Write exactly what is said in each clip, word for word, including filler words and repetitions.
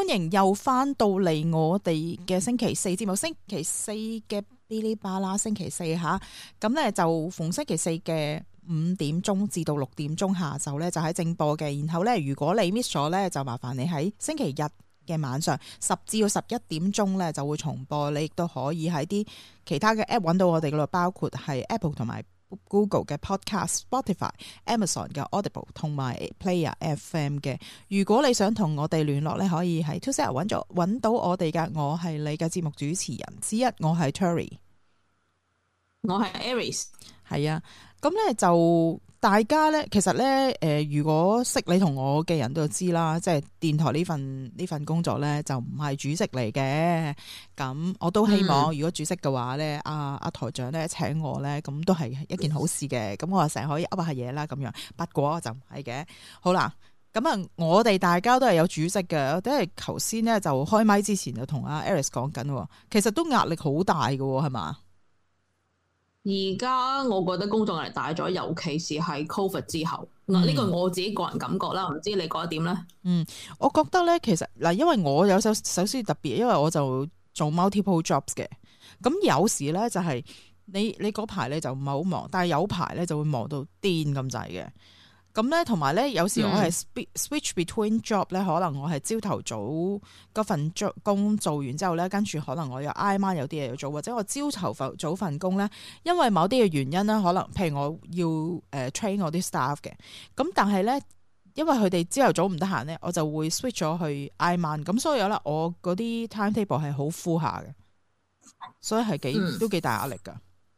歡迎又翻到嚟我哋嘅星期四節目，星期四嘅嗶哩吧啦，星期四吓，咁咧就逢星期四嘅五點鐘至到六點鐘下晝咧就喺正播嘅，然後咧如果你 miss 咗咧，就麻煩你喺星期日嘅晚上十至到十一點鐘咧就會重播，你亦都可以喺啲其他嘅 app 揾到我哋嗰度，包括係 Apple 同埋Google 嘅 Podcast、Spotify、Amazon 嘅 Audible 同埋 Player F M 嘅。如果你想同我哋聯絡咧，可以喺 Two Set 揾咗揾到我哋噶。我係你嘅節目主持人之一，我係 Terry， 我係 Aries。 係啊，咁咧就大家咧，其實咧，誒、呃，如果識你同我嘅人都知啦，即係電台呢份呢份工作咧，就唔係主職嚟嘅。咁我都希望，嗯、如果主職嘅話咧，阿、啊、阿、啊、台長咧請我咧，咁都係一件好事嘅。咁我成日可以噏下嘢啦，咁樣。不過就唔係嘅。好啦，咁啊，我哋大家都係有主職嘅。我哋頭先咧就開麥之前就同阿 Aries 講緊，其實都壓力好大嘅，係嘛？ 而家我覺得工作壓力大咗，尤其是係 Covid 之後，嗱呢個我自己個人感覺啦，唔知你覺得點咧？嗯， 我覺得咧，其實嗱，因為我有首首先特別，因為我就做 multiple jobs 嘅，咁有時咧就係你你嗰排咧就唔係好忙，但係有排咧就會忙到癲咁滯嘅。咁咧，同埋咧，有時我係 switch between job 咧，可能我係朝頭早嗰份工做完之後咧，跟住可能我有挨晚有啲嘢要做，或者我朝頭早份工咧，因為某啲嘅原因啦，可能譬如我要誒、呃、train 我啲 staff 嘅，咁但係咧，因為佢哋朝頭早唔得閒咧，我就會 switch 咗去挨晚，咁所以咧，我嗰啲 timetable 係好 full 下嘅，所以係幾、嗯、都幾大壓力噶。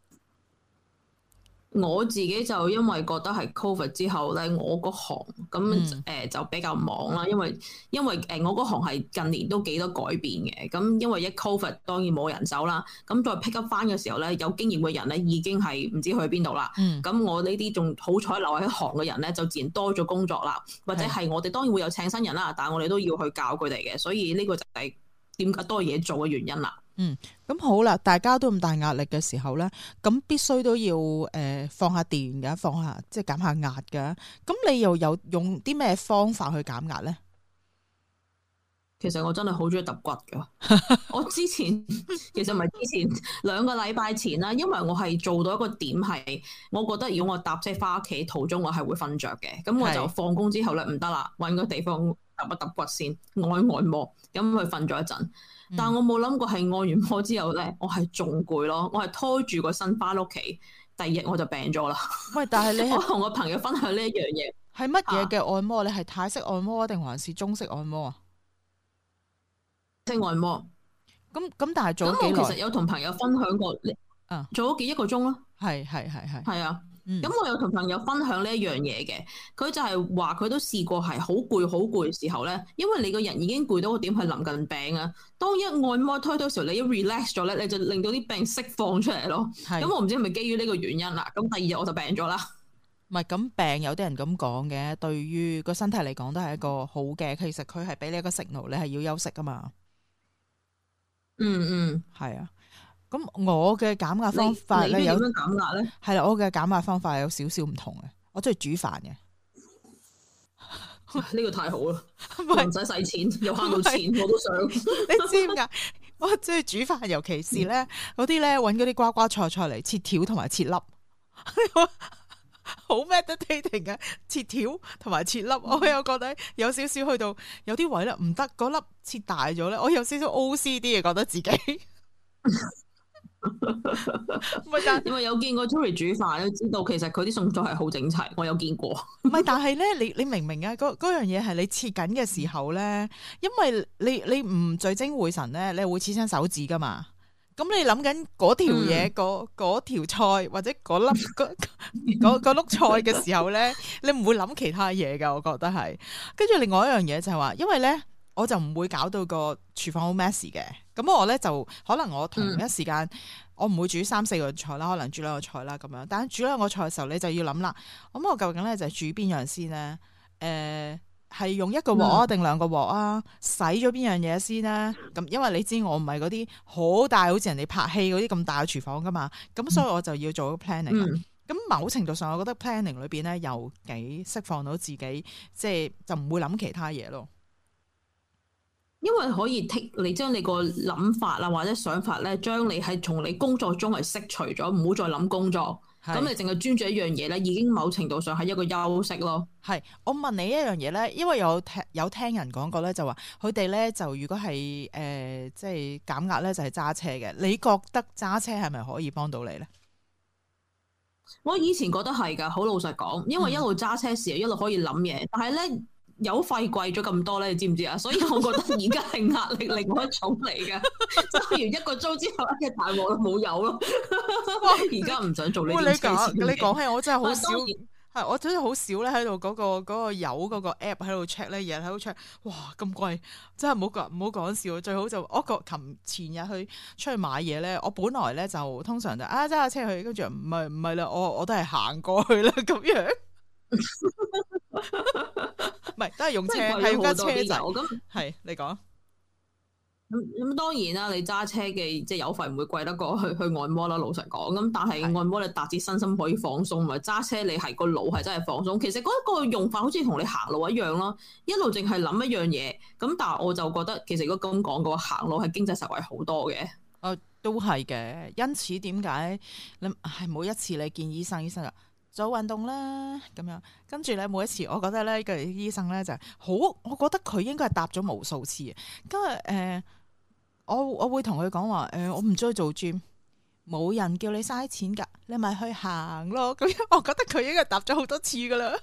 我自己就因為覺得係 Covid 之後咧，我嗰行咁誒、嗯呃、就比較忙啦，因為因為誒我嗰行係近年都幾多改變嘅，咁因為一 Covid 當然冇人手啦，咁再 pick up 翻嘅時候咧，有經驗嘅人咧已經係唔知去邊度啦，咁、嗯、我呢啲仲好彩留喺行嘅人咧就自然多咗工作啦，或者係我哋當然會有請新人啦，但係我哋都要去教佢哋嘅，所以呢個就係點解多嘢做嘅原因啦。 嗯，咁好啦，大家都咁大壓力嘅時候咧，咁必須都要誒、呃、放下電嘅，放下即係減下壓嘅。咁你又有用啲咩方法去減壓咧？ 其實我真係好中意揼骨噶。我之前其實唔係之前兩個禮拜前啦，因為我係做到一個點係，我覺得如果我搭車翻屋企途中我係會瞓着嘅，咁我就放工之後咧唔得啦，搵個地方揼一揼骨先，按按摩，咁佢瞓咗一陣。但我冇諗過係按完摩之後咧，我係仲攰咯，我係拖住個身翻屋企，第二日我就病咗啦。喂，但係你我同我朋友分享呢一樣嘢， 係乜嘢嘅按摩？啊、你係泰式按摩定還是中式按摩啊？ 泰式按摩。咁咁，但係做咗幾耐？ 我其實有同朋友分享過，啊，做咗幾一個鐘咯。 係係係係。係啊。 咁、嗯、我有同朋友分享呢一樣嘢嘅，佢就係話佢都試過係好攰好攰嘅時候咧，因為你個人已經攰到個點係臨近病啊。當一按摩推到時候，你一 relax 咗咧，你就令到啲病釋放出嚟咯。咁我唔知係咪基於呢個原因啦。咁第二日我就病咗啦。 唔係咁病，有啲人咁講嘅，對於個身體嚟講都係一個好嘅。其實佢係俾你一個 signal，你係要休息噶嘛。 嗯嗯， 係啊。咁我嘅減壓方法咧有點樣減壓咧？係啦，我嘅減壓方法有少少唔同嘅。我中意煮飯嘅， 呢個太好啦，唔使使錢又慳到錢，我都想。 你知唔知？我中意煮飯，尤其是咧嗰啲咧搵嗰啲瓜瓜菜菜嚟切條同埋切粒，好 meditating 嘅切條同埋切粒。我又覺得有少少去到有啲位咧唔得，嗰粒切大咗咧，我有少少 O C D 嘅，覺得自己。 唔係，但因為有見過 Terry 煮飯，都知道其實佢啲餸菜係好整齊，我有見過。 唔係，但係咧，你你明唔明啊？嗰嗰樣嘢係你切緊嘅時候咧，因為你你唔聚精會神咧，你會切親手指噶嘛。咁你諗緊嗰條嘢，嗰嗰條菜或者嗰粒嗰嗰碌菜嘅時候咧，你唔會諗其他嘢噶。我覺得係。跟住另外一樣嘢就係話，因為咧。我就唔會搞到個廚房好 messy 嘅，咁我咧就可能我同一時間、嗯、我唔會煮三四個菜啦，可能煮兩個菜啦咁樣。但係煮兩個菜嘅時候，你就要諗啦，咁我究竟咧就係煮邊樣先咧？誒、呃，係用一個鑊啊，定兩個鑊啊？洗咗邊樣嘢先咧？咁因為你知我唔係嗰啲好大，好似人哋拍戲嗰啲咁大嘅廚房噶嘛，咁所以我就要做個 planning。咁、嗯、某程度上，我覺得 planning 裏邊咧又幾釋放到自己，即係就唔會諗其他嘢咯。 因為可以剔你將你個諗法啊或者想法咧，將你係從你工作中係釋除咗，唔好再諗工作。咁是你淨係專注一樣嘢咧，已經某程度上係一個休息咯。係， 我問你一樣嘢咧，因為有聽有聽人講過咧，就話佢哋咧就如果係誒、呃、即係減壓咧，就係揸車嘅。你覺得揸車係咪可以幫到你咧？ 我以前覺得係㗎，好老實講，因為一路揸車時一路可以諗嘢，但係咧。油費貴咗咁多咧，你知唔知啊？所以我覺得而家係壓力另外一種嚟嘅，揸完一個鐘之後，一大鑊都冇油咯。而家唔想做呢件事。你講，你講起我真係好少，係我真係好少咧喺度嗰個嗰、嗰個油嗰個 app 喺度 check 咧，日日喺度 check，哇咁貴，真係唔好講唔好講笑，最好就我個琴前日去出去買嘢咧，我本來咧就通常就啊揸下車去，跟住唔係唔係啦，我我都係行過去啦咁樣。唔係，都係用車，係用架車仔。咁係你講。咁咁當然啦，你揸車嘅即係油費唔會貴得過去去按摩啦。老實講，咁但係按摩你達至身心可以放鬆，咪揸車你係個腦係真係放鬆。其實嗰一個用法好似同你行路一樣咯，一路淨係諗一樣嘢。咁但係我就覺得，其實如果咁講嘅話，行路係經濟實惠好多嘅。誒，都係嘅。因此點解你係每一次你見醫生，醫生啊？做運動啦，咁樣跟住咧，每一次我覺得咧，個醫生咧就係好，我覺得佢應該係答咗無數次嘅。今日誒，我我會同佢講話誒，我唔中意做 gym，冇人叫你嘥錢㗎，你咪去行咯。咁樣我覺得佢應該答咗好多次㗎啦。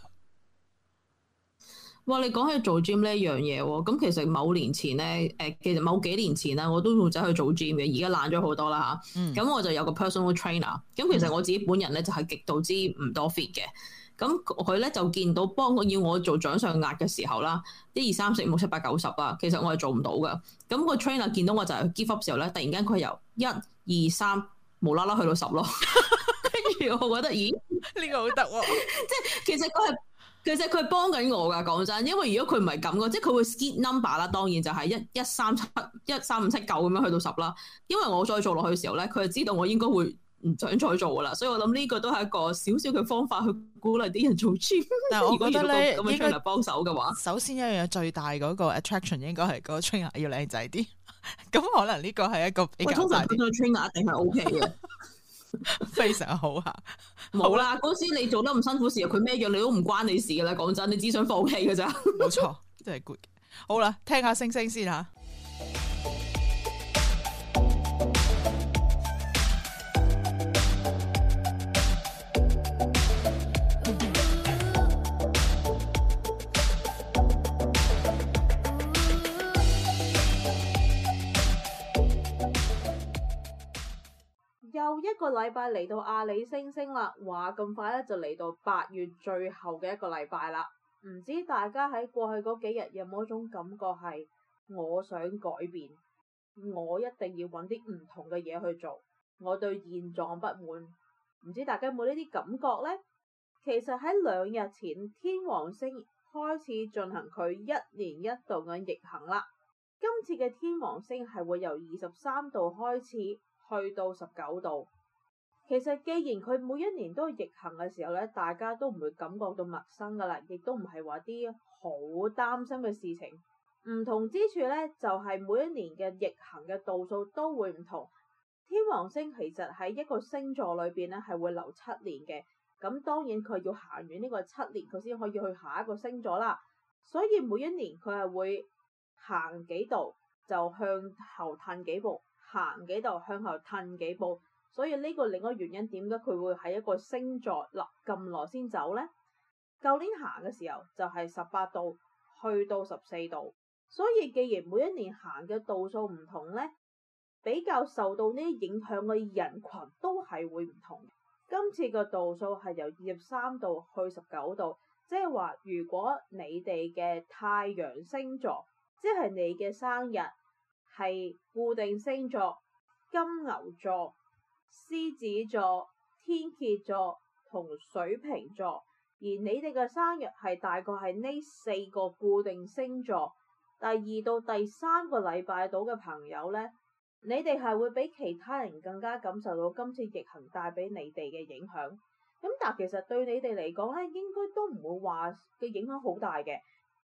哇！你講起做 gym 呢一樣嘢喎，咁其實某年前咧，誒其實某幾年前啦，我都會走去做 gym 嘅，而家懶咗好多啦嚇。咁、嗯、我就有個 personal trainer，咁其實我自己本人咧就係極度之唔多 fit 嘅。咁佢咧就見到幫我要我做掌上壓嘅時候啦，一二三四五六七八九十啦，其實我係做唔到噶。咁個 trainer 見到我就係 give up 時候咧，突然間佢由一二三無啦啦去到十咯，跟住我覺得咦呢個好得喎，即係其實佢係。其實佢係幫緊我噶，講真，因為如果佢唔係咁嘅，即係佢會 skip number 啦，當然就係一一三七一三五七九咁樣去到十啦。因為我再做落去嘅時候咧，佢就知道我應該會唔想再做噶啦，所以我諗呢個都係一個少少嘅方法去鼓勵啲人做 gym。但係我覺得咧，咁樣 trainer 幫手嘅話，首先一樣嘢最大嗰個 attraction 應該係嗰個 trainer 要靚仔啲，咁可能呢個係一個比較大啲。通常 trainer 一定係 OK 嘅。非常好吓，冇啦！嗰時你做得咁辛苦時，佢咩樣你都唔關你事噶啦。講真，你只想放棄噶咋？冇錯，真係 good。好啦，聽下星星先吓。 又一個禮拜嚟到阿里星星啦，話咁快咧就嚟到八月最後嘅一個禮拜啦。唔知大家喺過去嗰幾日有冇一種感覺係我想改變，我一定要揾啲唔同嘅嘢去做，我對現狀不滿。唔知大家有冇呢啲感覺呢？其實喺兩日前，天王星開始進行佢一年一度嘅逆行啦。今次嘅天王星係會由二十三度開始去到十九度。其實既然佢每一年都逆行嘅時候咧，大家都唔會感覺到陌生噶啦，亦都唔係話啲好擔心嘅事情。唔同之處咧，就係每一年嘅逆行嘅度數都會唔同。天王星其實喺一個星座裏邊咧係會留七年嘅，咁當然佢要行完呢個七年，佢先可以去下一個星座啦。所以每一年佢係會行幾度就向後褪幾步，行幾度向後褪幾步。所以呢個另一個原因，點解佢會喺一個星座立咁耐先走呢？舊年行嘅時候就係十八度去到十四度，所以既然每一年行嘅度數唔同呢，比較受到呢啲影響嘅人群都係會唔同。今次嘅度數係由二十三度去十九度，即係話如果你哋嘅太陽星座，即係你嘅生日係固定星座金牛座、獅子座、天蠍座同水瓶座，而你哋嘅生日係大概係呢四個固定星座，第二到第三個禮拜到嘅朋友呢，你哋係會比其他人更加感受到今次逆行帶俾你哋嘅影響。咁但其實對你哋嚟講呢，應該都唔會話嘅影響好大嘅，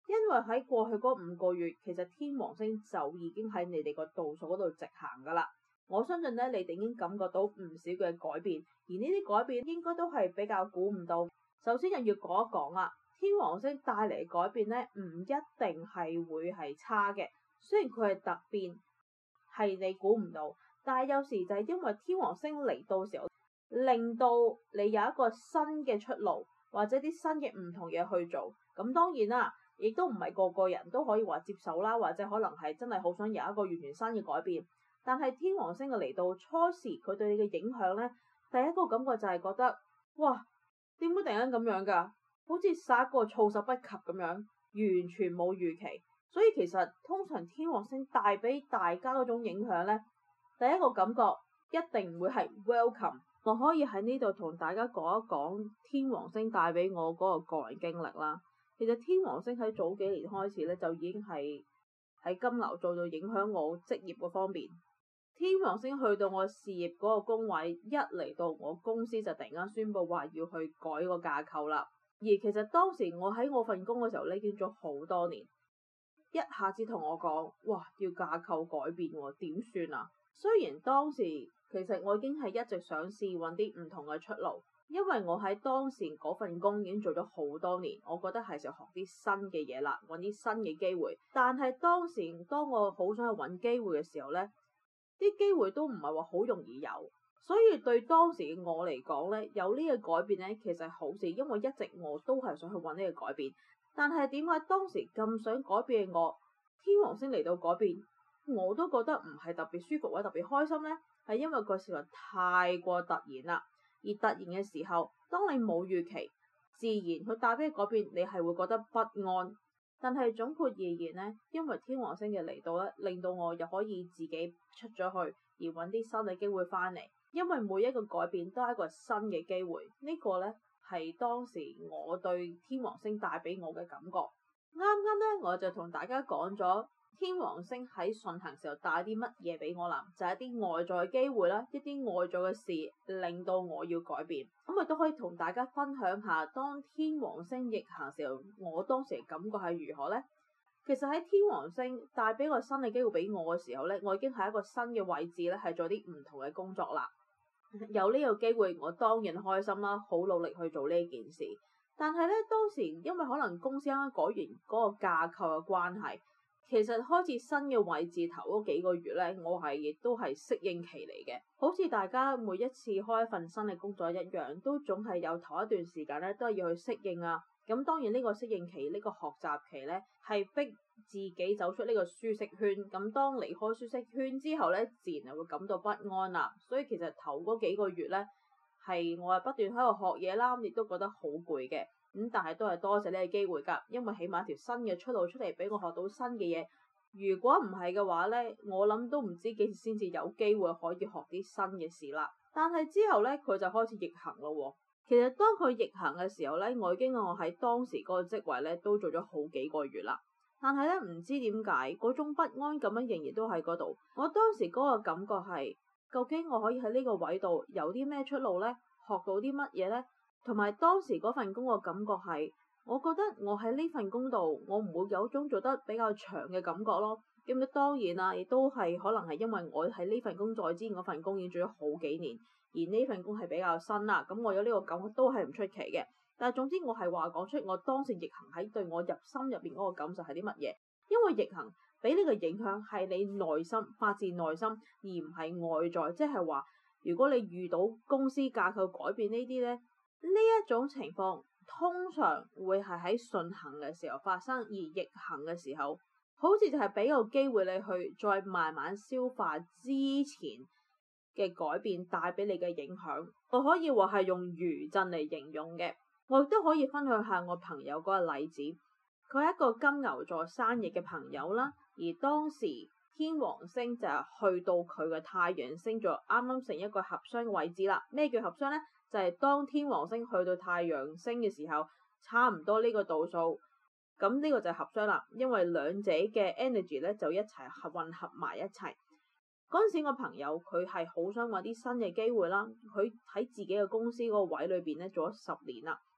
因為喺過去嗰五個月，其實天王星就已經喺你哋個度數嗰度直行噶啦。我相信咧，你哋已經感覺到唔少嘅改變，而呢啲改變應該都係比較估唔到。首先又要講一講啦，天王星帶嚟改變咧，唔一定係會係差嘅。雖然佢係突變，係你估唔到，但係有時就係因為天王星嚟到時候，令到你有一個新嘅出路，或者啲新嘅唔同嘢去做。咁當然啦，亦都唔係個個人都可以話接受啦，或者可能係真係好想有一個完全新嘅改變。但係天王星嘅嚟到初時，佢對你嘅影響咧，第一個感覺就係覺得，哇，點會突然間咁樣㗎？好似殺一個措手不及咁樣，完全冇預期。所以其實通常天王星帶俾大家嗰種影響咧，第一個感覺一定唔會係 welcome。我可以喺呢度同大家講一講天王星帶俾我嗰個個人經歷啦。其實天王星喺早幾年開始咧，就已經係喺金牛座度影響我職業嗰方面。天王星去到我事業嗰個宮位，一嚟到我公司就突然間宣布話要去改個架構啦。而其實當時我喺我份工嘅時候咧，已經做好多年，一下子同我講，哇，要架構改變喎，點算啊？雖然當時其實我已經係一直想試揾啲唔同嘅出路，因為我喺當時嗰份工已經做咗好多年，我覺得係時候學啲新嘅嘢啦，揾啲新嘅機會。但係當時當我好想去揾機會嘅時候呢，啲機會都唔係話好容易有，所以對當時嘅我嚟講呢，有呢個改變呢，其實係好事，因為一直我都係想去揾呢個改變。但係點解當時咁想改變嘅我，天王星嚟到改變，我都覺得唔係特別舒服或者特別開心呢？係因為個事實太過突然啦。而突然嘅時候，當你冇預期，自然佢帶俾你改變，你係會覺得不安。但係總括而言呢，因為天王星嘅嚟到咧，令到我又可以自己出咗去，而揾啲新嘅機會翻嚟。因為每一個改變都係一個新嘅機會，呢個呢係當時我對天王星帶俾我嘅感覺。啱啱呢，我就同大家講咗天王星喺順行時候帶啲乜嘢俾我啦，就係一啲外在嘅機會啦，一啲外在嘅事令到我要改變。咁我都可以同大家分享下，當天王星逆行時候，我當時嘅感覺係如何呢？其實喺天王星帶俾個新嘅機會俾我嘅時候呢，我已經係一個新嘅位置咧，係做啲唔同嘅工作啦。有呢個機會，我當然開心啦，好努力去做呢件事。但係咧，當時因為可能公司啱啱改完嗰個架構嘅關係，其實開始新嘅位置頭嗰幾個月咧，我係亦都係適應期嚟嘅。好似大家每一次開一份新嘅工作一樣，都總係有頭一段時間咧，都係要去適應啊。咁當然呢個適應期，呢個學習期咧，係逼自己走出呢個舒適圈。咁當離開舒適圈之後咧，自然係會感到不安啦。所以其實頭嗰幾個月咧，係我係不斷喺度學嘢啦，亦都覺得好攰嘅。咁但係都係多謝呢個機會㗎，因為起碼一條新嘅出路出嚟俾我學到新嘅嘢。如果唔係嘅話咧，我諗都唔知幾時先至有機會可以學啲新嘅事啦。但係之後咧，佢就開始逆行咯喎。其實當佢逆行嘅時候咧，我已經我喺當時嗰個職位咧都做咗好幾個月啦。但係咧，唔知點解嗰種不安感樣仍然都喺嗰度。我當時嗰個感覺係，究竟我可以喺呢個位度有啲咩出路咧？學到啲乜嘢咧？同埋當時嗰份工嘅感覺係，我覺得我喺呢份工度，我唔會有種做得比較長嘅感覺咯。咁當然啦，亦都係可能係因為我喺呢份工作之前嗰份工已經做咗好幾年。而呢份工係比較新啦，咁我有呢個感覺都係唔出奇嘅。但係總之我係話講出我當時逆行喺對我入心入邊嗰個感受係啲乜嘢？因為逆行俾你嘅影響係你內心發自內心，而唔係外在。即係話，如果你遇到公司架構改變呢啲咧，呢一種情況通常會係喺順行嘅時候發生，而逆行嘅時候，好似就係俾個機會你去再慢慢消化之前嘅改變帶俾你嘅影響。我可以話係用餘震嚟形容嘅。我亦都可以分享下我朋友嗰個例子。佢係一個金牛座生日嘅朋友啦，而當時天王星就係去到佢嘅太陽星座啱啱成一個合相嘅位置啦。咩叫合相呢？就係、是、當天王星去到太陽星嘅時候，差唔多呢個度數，咁呢個就係合相啦。因為兩者嘅 energy 咧就一齊合混合埋一齊。嗰陣時，我朋友佢係好想揾啲新嘅機會啦。佢喺自己嘅公司嗰個位裏邊咧做咗十年啦，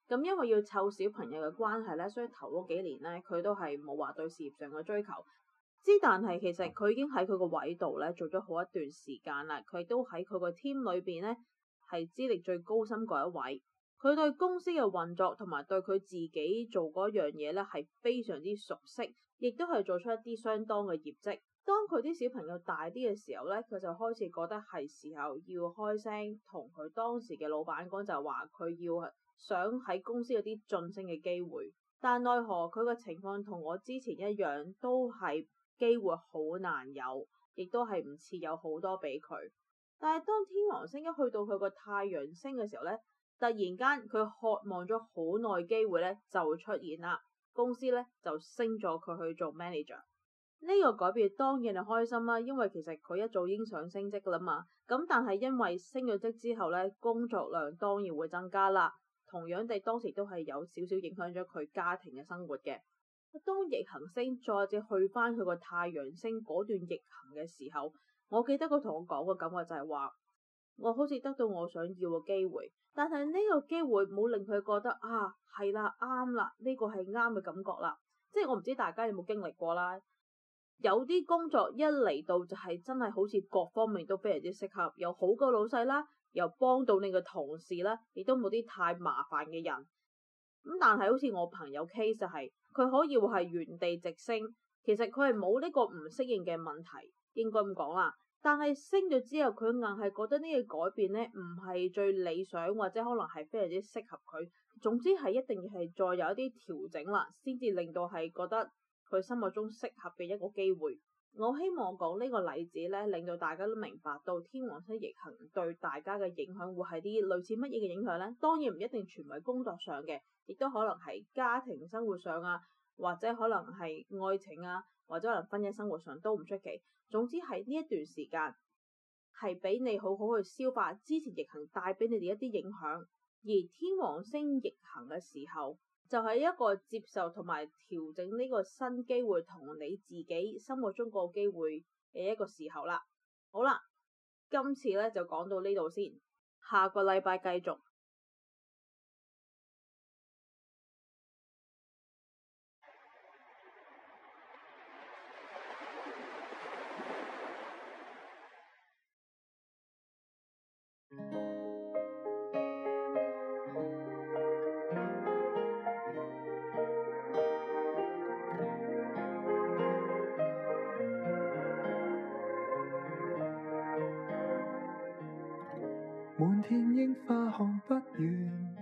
咁因為要湊小朋友嘅關係咧，所以頭嗰幾年咧，佢都係冇話對事業上嘅追求。之但係其實佢已經喺佢個位度咧做咗好一段時間啦，佢都喺佢個 team 裏邊咧係資歷最高深嗰一位。佢對公司嘅運作同埋對佢自己做嗰樣嘢咧係非常之熟悉，亦都係做出一啲相當嘅業績。當佢啲小朋友大啲嘅時候咧，佢就開始覺得係時候要開聲同佢當時嘅老闆講，就係話佢要想喺公司有啲晉升嘅機會。但奈何佢嘅情況同我之前一樣，都係機會好難有，亦都係唔似有好多俾佢。但係當天王星一去到佢個太陽星嘅時候咧，突然間佢渴望咗好耐機會咧就會出現啦，公司咧就升咗佢去做 manager。呢個改變當然係開心啦，因為其實佢一早已經想升職噶啦嘛。咁但係因為升咗職之後咧，工作量當然會增加啦。同樣地，當時都係有少少影響咗佢家庭嘅生活嘅。當逆行星再次去翻佢個太陽星嗰段逆行嘅時候，我記得佢同我講個感覺就係話，我好似得到我想要嘅機會，但係呢個機會冇令佢覺得啊係啦啱啦，呢個係啱嘅感覺啦。即係我唔知大家有冇經歷過啦。有啲工作一嚟到就係真係好似各方面都非常之適合，有好嘅老細啦，又幫到你嘅同事啦，亦都冇啲太麻煩嘅人。咁但係好似我朋友 case 就係，佢可以話係原地直升，其實佢係冇呢個唔適應嘅問題，應該咁講啦。但係升咗之後，佢硬係覺得呢個改變咧唔係最理想，或者可能係非常之適合佢。總之係一定要係再有一啲調整啦，先至令到係覺得佢心目中適合嘅一個機會。我希望講呢個例子咧，令到大家都明白到天王星逆行對大家嘅影響會係啲類似乜嘢嘅影響咧。當然唔一定全為工作上嘅，亦都可能係家庭生活上啊，或者可能係愛情啊，或者可能婚姻生活上都唔出奇。總之係呢一段時間係俾你好好去消化之前逆行帶俾你哋一啲影響，而天王星逆行嘅時候，就係一個接受同埋調整呢個新機會同你自己心目中個機會嘅一個時候啦。好啦，今次咧就講到呢度先，下個禮拜繼續。 滿天櫻花看不完，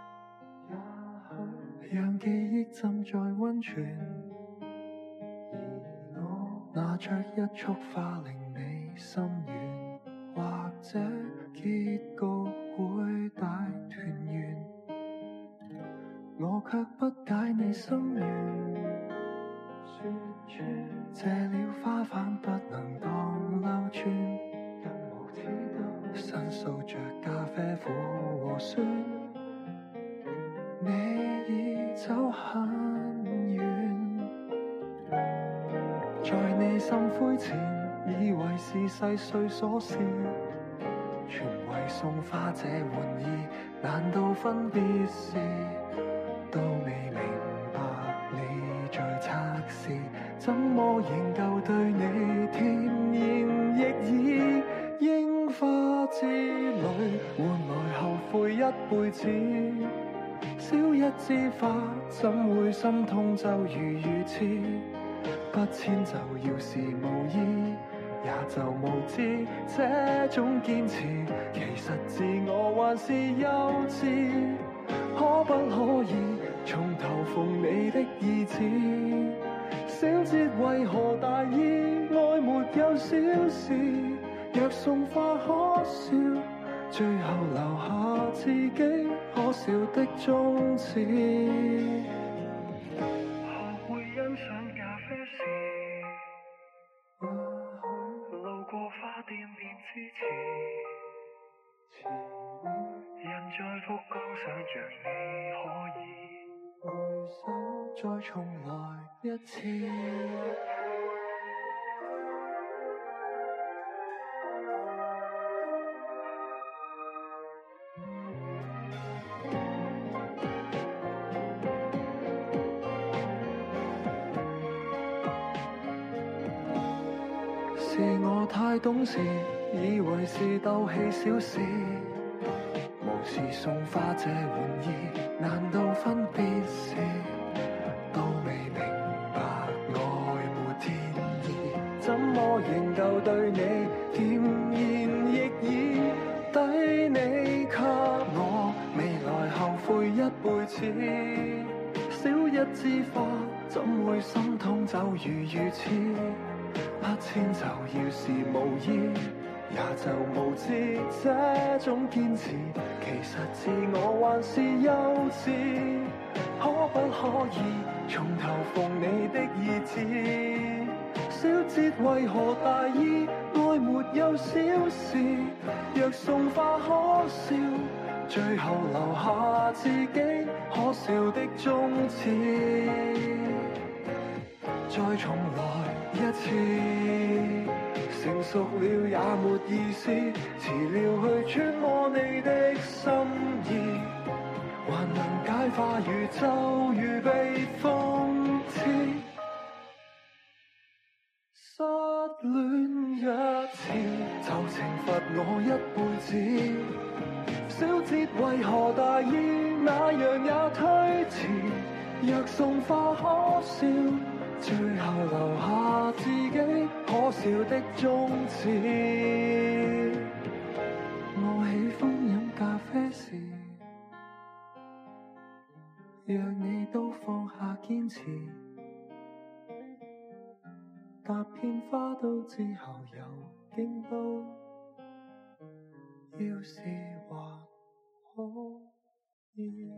也許讓記憶浸在溫泉，而我拿着一束花令你心軟，或者結局會大團圓，我卻不解你心願，說穿謝了花瓣不能當流轉，申訴着咖啡苦和酸，你已走很遠，在你心灰前，以為是細碎瑣事，全為送花這玩意，難道分別時都未明白你在測試，怎麼仍舊對你甜言蜜語？櫻花之旅換來後悔一輩子，少一枝花怎會心痛就如如此，不遷就要是無意，也就無知這種堅持，其實自我還是幼稚，可不可以從頭縫你的意志，小節為何大意，愛沒有小事，若送花可笑，最後留下自己可笑的宗旨。學會欣賞咖啡時，路過花店便支持，人在福岡想着你可以回首再重來一次。 是我太懂事，以為是鬥氣小事，無視送花這玩意，難道分別時都未明白愛沒天意？怎麼仍舊對你甜言逆耳，抵你給我未來後悔一輩子。少一枝花怎會心痛就如如此，不遷就要是無意，也就無知這種堅持，其實自我還是幼稚。可不可以從頭縫你的意志？小節為何大意？愛沒有小事，若送花可笑，最後留下自己可笑的終始。再重來一次，成熟了也沒意思，遲了去揣摩你的心意，還能解化宇宙如被諷刺。失戀一次就懲罰我一輩子，小節為何大意？那樣也推遲。若送花可笑，最後留下自己可笑的終始。我喜歡飲咖啡時，讓你都放下堅持。踏遍花都之後又京都，要是還可以。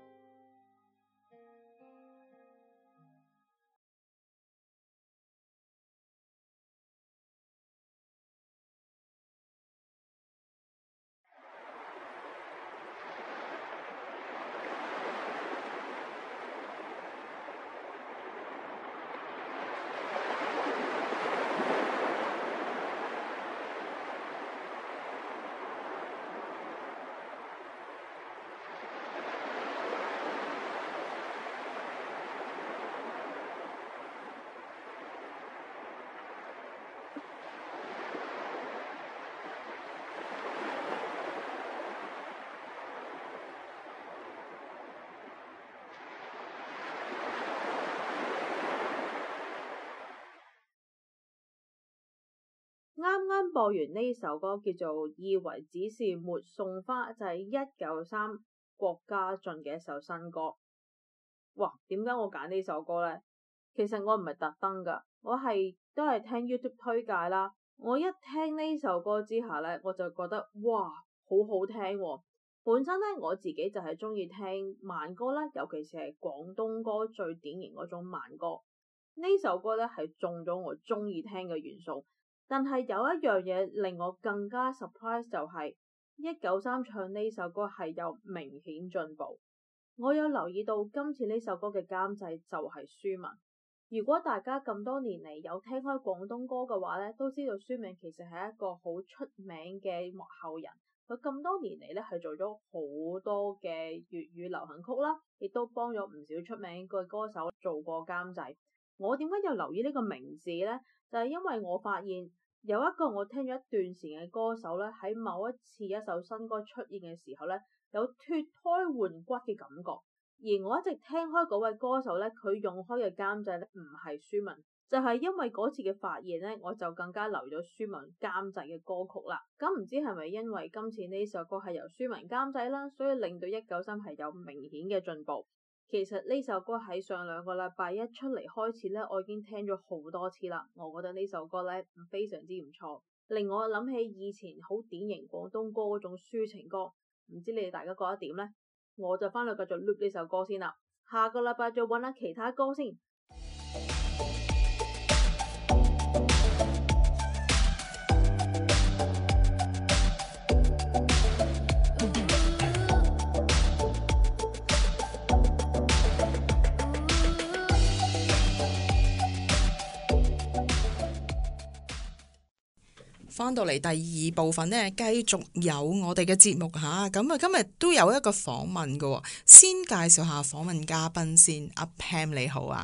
啱啱播完呢首歌叫做《以為只是沒送花》，就係一九三郭家俊嘅一首新歌。哇，點解我揀呢首歌呢？其實我唔係特登噶，我係都係聽 YouTube 推介啦。我一聽呢首歌之下呢，我就覺得哇，好好聽喎。本身呢，我自己就係中意聽慢歌啦，尤其是係廣東歌最典型嗰種慢歌。呢首歌呢，係中咗我中意聽嘅元素。但係有一樣嘢令我更加 surprise 就係一九三唱呢首歌係有明顯進步。我有留意到今次呢首歌嘅監製就係舒文。如果大家咁多年嚟有聽開廣東歌嘅話咧，都知道舒文其實係一個好出名嘅幕後人。佢咁多年嚟咧係做咗好多嘅粵語流行曲啦，亦都幫咗唔少出名嘅歌手做過監製。我點解有留意呢個名字呢？就係因為我發現有一個我聽咗一段時間嘅歌手咧，喺某一次一首新歌出現嘅時候咧，有脫胎換骨嘅感覺。而我一直聽開嗰位歌手咧，佢用開嘅監製咧唔係舒文，就係因為嗰次嘅發現咧，我就更加留意咗舒文監製嘅歌曲啦。咁唔知係咪因為今次呢首歌係由舒文監製啦，所以令到一九三係有明顯嘅進步。其實呢首歌喺上兩個禮拜一出嚟開始咧，我已經聽咗好多次啦。我覺得呢首歌咧非常之唔錯，令我諗起以前好典型廣東歌嗰種抒情歌。唔知你哋大家覺得點呢？我就翻去繼續 loop 呢首歌先啦。下個禮拜再揾下其他歌先。 翻到嚟第二部分呢，繼續有我哋嘅節目吓，咁啊今日都有一個訪問嘅，先介紹下訪問嘉賓先。阿 Pam 你好啊，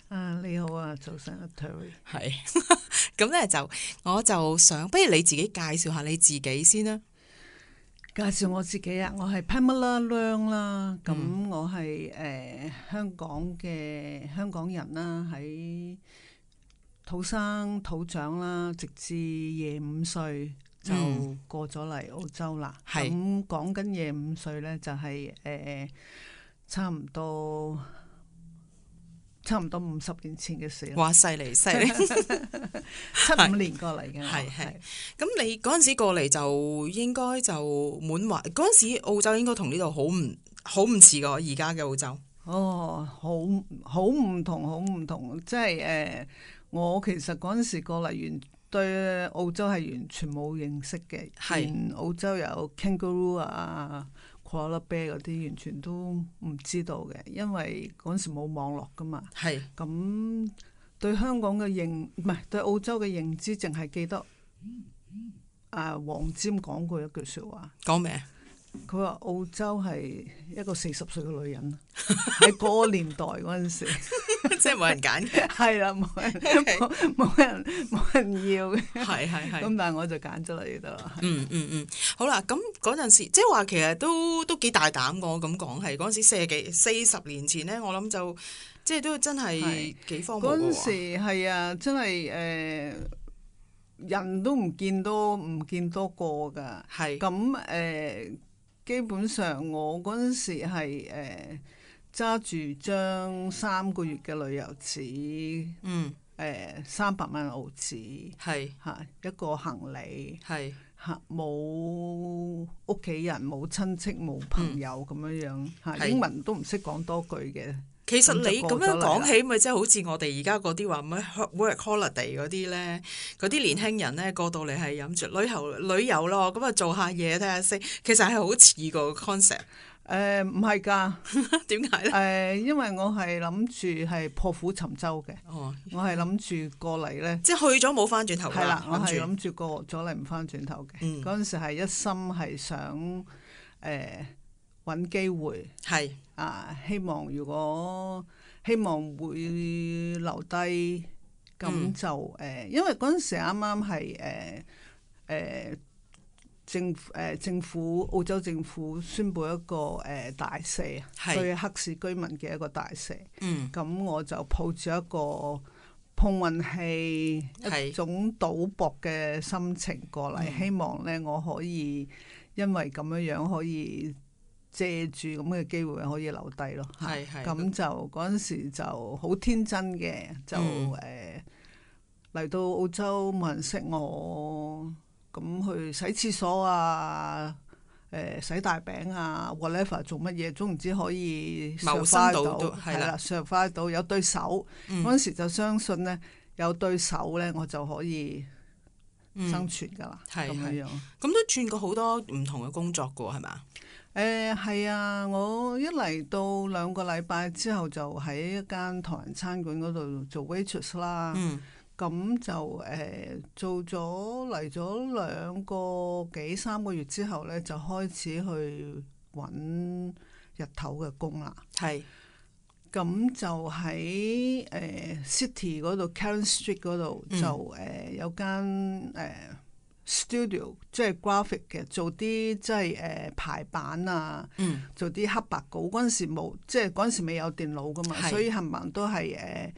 啊，你好啊，早晨啊 Terry。 係咁咧，就我就想，不如你自己介紹下你自己先啦。 介紹我自己啊，我係 Pamela Leung 啦，咁我係誒、呃、香港嘅香港人啦，喺土生土長啦，直至廿五歲就過咗嚟澳洲啦。咁、嗯、講緊廿五歲咧，就係、是、誒、呃、差唔多。差唔多五十年前嘅事。 哇！犀利犀利， 七五年過嚟嘅。 係係。咁你嗰陣時過嚟就應該就滿懷嗰陣時澳洲應該同呢度好唔好唔似個而家嘅澳洲。 哦，好好唔同，好唔同。即係誒、呃，我其實嗰陣時過嚟完對澳洲係完全冇認識嘅。係。澳洲有 kangaroo 啊。Koala bear 嗰啲完全都唔知道嘅，因為嗰陣時冇網絡噶嘛。係咁對香港嘅認唔係對澳洲嘅認知，淨係記得啊黃霑講過一句説話。講咩？佢話澳洲係一個四十歲嘅女人，喺嗰個年代嗰陣時， 即係冇人揀嘅。係啦， 冇人冇冇人冇人要嘅。 係係係。 咁但係我就揀咗嚟得啦。 嗯嗯嗯，好啦，咁嗰陣時即係話其實都都幾大膽，我咁講係嗰陣時四十幾四十年前咧，我諗就即係都真係幾荒謬嘅喎。 嗰陣時係啊，真係誒、呃、人都唔見多唔見多個㗎。係咁誒。基本上我嗰陣時係誒揸住張三個月嘅旅遊紙，嗯，誒三百蚊澳紙，係嚇一個行李，係嚇冇屋企人冇親戚冇朋友咁樣樣嚇，英文都唔識講多句嘅。 其實你咁樣講起，咪即係好似我哋而家嗰啲話咩 work holiday 嗰啲咧，嗰啲年輕人咧過到嚟係諗住旅遊旅遊咯，咁啊做下嘢睇下先。其實係好似個 concept。 誒唔係㗎， 點解咧？誒、 呃，因為我係諗住係破釜沉舟嘅。哦，我係諗住過嚟咧， 即係去咗冇翻轉頭㗎。係啦， 我係諗住過咗嚟唔翻轉頭嘅。嗯，嗰陣時係一心係想誒。呃揾機會係啊，希望如果希望會留低，咁就誒、嗯呃，因為嗰陣時啱啱係誒誒政誒、呃、政府澳洲政府宣布一個誒、呃、大赦，對黑市居民嘅一個大赦。嗯，咁我就抱住一個碰運氣、一種賭博嘅心情過嚟，嗯、希望咧我可以因為咁樣樣可以。借住咁嘅機會可以留低咯，係係咁就嗰陣時就好天真嘅，就誒嚟、嗯呃、到澳洲冇人識我，咁去洗廁所啊，誒、呃、洗大餅啊 whatever 做乜嘢，總唔知可以謀生到，係啦，上翻到有對手，嗰陣、嗯、時就相信咧有對手咧，我就可以生存㗎啦，咁、嗯、樣樣。 咁都轉過好多唔同嘅工作㗎，係嘛？ 誒係、呃、啊！我一嚟到兩個禮拜之後，就喺一間唐人餐館嗰度做 waitress 啦。咁、嗯、就誒、呃、做咗嚟咗兩個幾三個月之後咧，就開始去揾日頭嘅工啦。係。咁就喺誒、呃、City 嗰度 Karen Street 嗰度、嗯、就誒、呃、有間誒。呃studio 即係 graphic 嘅，做啲即係誒排版啊，嗯、做啲黑白稿。嗰陣時冇，即係嗰陣時未有電腦噶嘛，是所以冚唪唥都係誒、uh,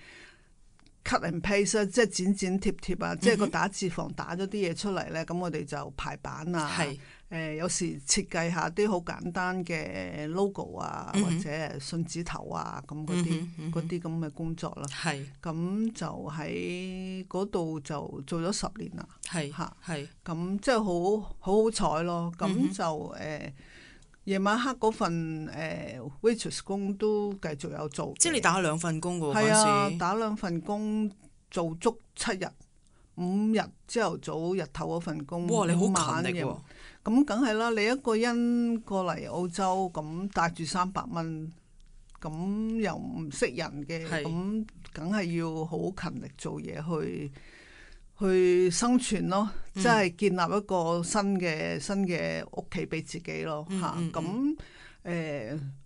cut and paste 即係剪剪貼貼啊，嗯、哼即係個打字房打咗啲嘢出嚟咧，咁我哋就排版啊。誒、呃、有時設計下啲好簡單嘅 logo 啊，嗯、哼或者信紙頭啊，咁嗰啲嗰啲咁嘅工作啦。係咁是就喺嗰度就做咗十年啦。係嚇係咁即係好好好彩咯。咁、嗯、哼就誒夜、呃、晚黑嗰份誒、呃、waitress 工都繼續有做。即係你打兩份工㗎喎？係啊，打兩份工做足七日，五日朝頭早日頭嗰份工。哇！你好勤力喎。咁梗係啦，你一個人過嚟澳洲，咁帶住三百蚊，咁又唔識人嘅，咁梗係要好勤力做嘢去去生存咯，即係、嗯、建立一個新嘅新嘅屋企俾自己咯嚇。咁誒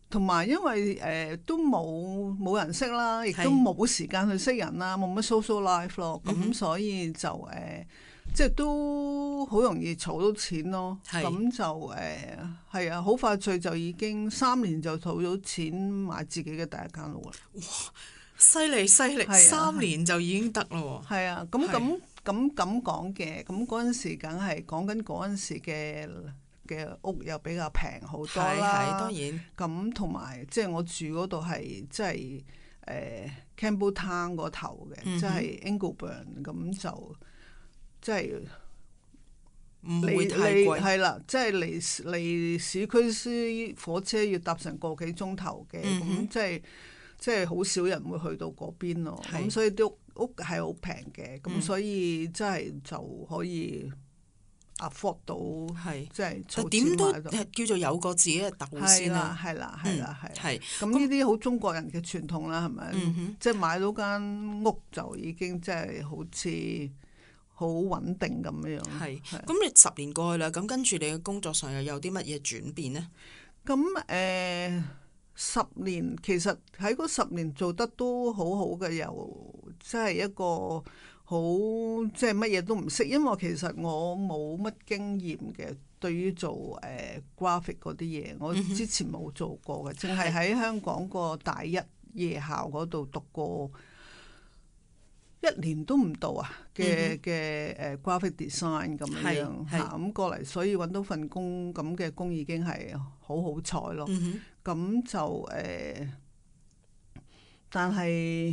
同埋因為誒、呃、都冇冇人識啦，亦都冇時間去識人啦，冇乜 social life 咯，咁、嗯、所以就誒、呃、即係都好容易儲到錢咯。咁就誒係啊，好快脆就已經三年就儲到錢買自己嘅第一間屋啦。 哇！犀利犀利，三年就已經得咯喎。 係啊，咁咁咁咁講嘅，咁嗰陣時梗係講緊嗰陣時嘅嘅屋又比較平好多啦。 係當然。咁同埋即係我住嗰度係即係誒 Campbelltown 嗰頭嘅，即係 Ingleburn 咁就即係唔會太貴。 係啦，即係離離市區啲火車要搭成個幾鐘頭嘅，咁即係。即係好少人會去到嗰邊咯，咁所以啲屋屋係好平嘅，咁、嗯、所以真係就可以 afford 到，即係儲錢買到。 點都叫做有個自己嘅竇先啦。 係啦，係啦，係。 係咁呢啲好中國人嘅傳統啦，係咪？ 嗯、 即係買到間屋就已經即係好似好穩定咁樣。 係。咁你十年過去啦，咁跟住你嘅工作上又有啲乜嘢轉變呢？ 咁誒。呃十年其實喺嗰十年做得都好好嘅，又即係一個好即係乜嘢都唔識，因為其實我冇乜經驗嘅，對於做誒、呃、graphic 嗰啲嘢，我之前冇做過嘅，淨係喺香港個大一夜校嗰度讀過一年都唔到啊嘅嘅誒 graphic design 咁樣嚇，咁過嚟，所以揾到份工咁嘅工已經係好好彩咯。嗯咁就誒、呃，但係